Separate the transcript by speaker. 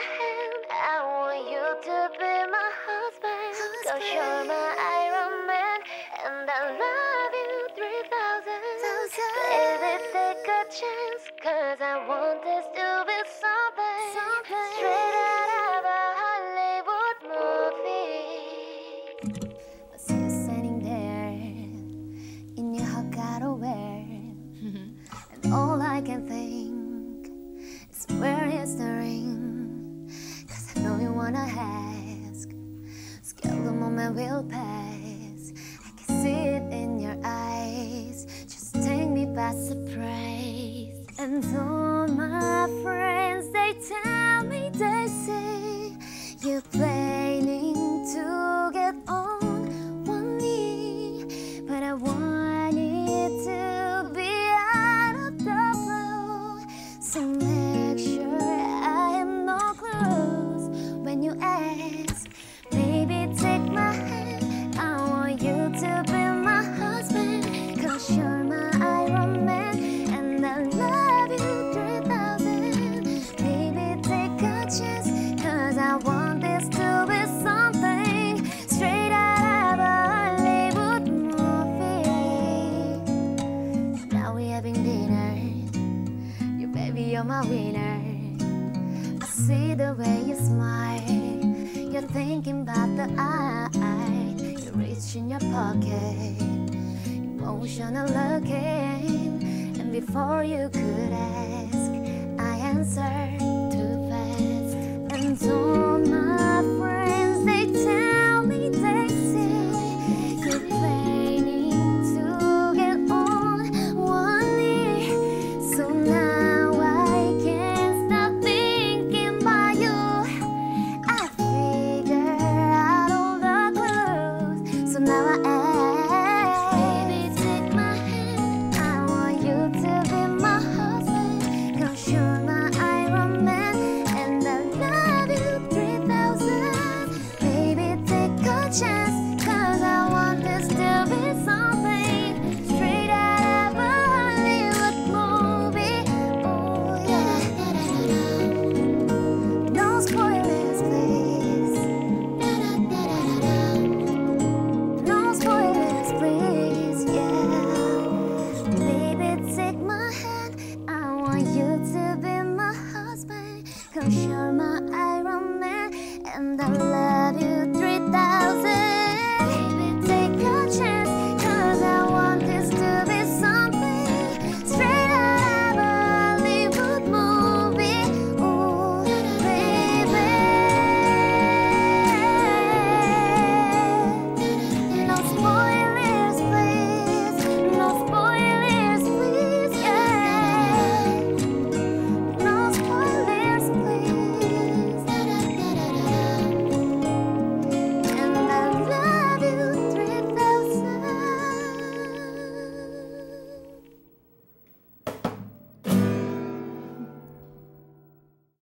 Speaker 1: hand, I want you to be my husband. Cause you're my Iron Man, and I love you 3,000. Baby, take a chance, cause I want this to be something straight out of a Hollywood movie. I see you standing there in your hot wear, and all I can think is where is the ring? Cause I know you wanna ask, scared the moment will pass. I can see it in your eyes, just take me by surprise. And all my friends, they tell me, they say you're planning to get on one knee, but I want it to be out of the blue. So make sure I have no clues when you ask. Baby, take my hand, I want you to be my husband. Cause you're my Iron Man, and I love you 3,000. Baby, take a chance, cause I want this to be something straight out of a Hollywood movie. Now we having dinner, you baby, you're my winner. I see the way you smile, you're thinking about the eye. You reach in your pocket, emotional looking, and before you could ask, I answered too fast. And all my friends, they tell me, they say you're planning to get on one knee. So now I can't stop thinking about you. I figure out all the clues, so now I ask. Baby, take my hand, I want you to be my husband. Cause you're my Iron Man, and I love you 3,000. Baby, take a chance, cause I want this to be something straight out of a Hollywood movie. Oh yeah. No spoilers, please. No spoilers, please, yeah. Baby, take my hand, I want you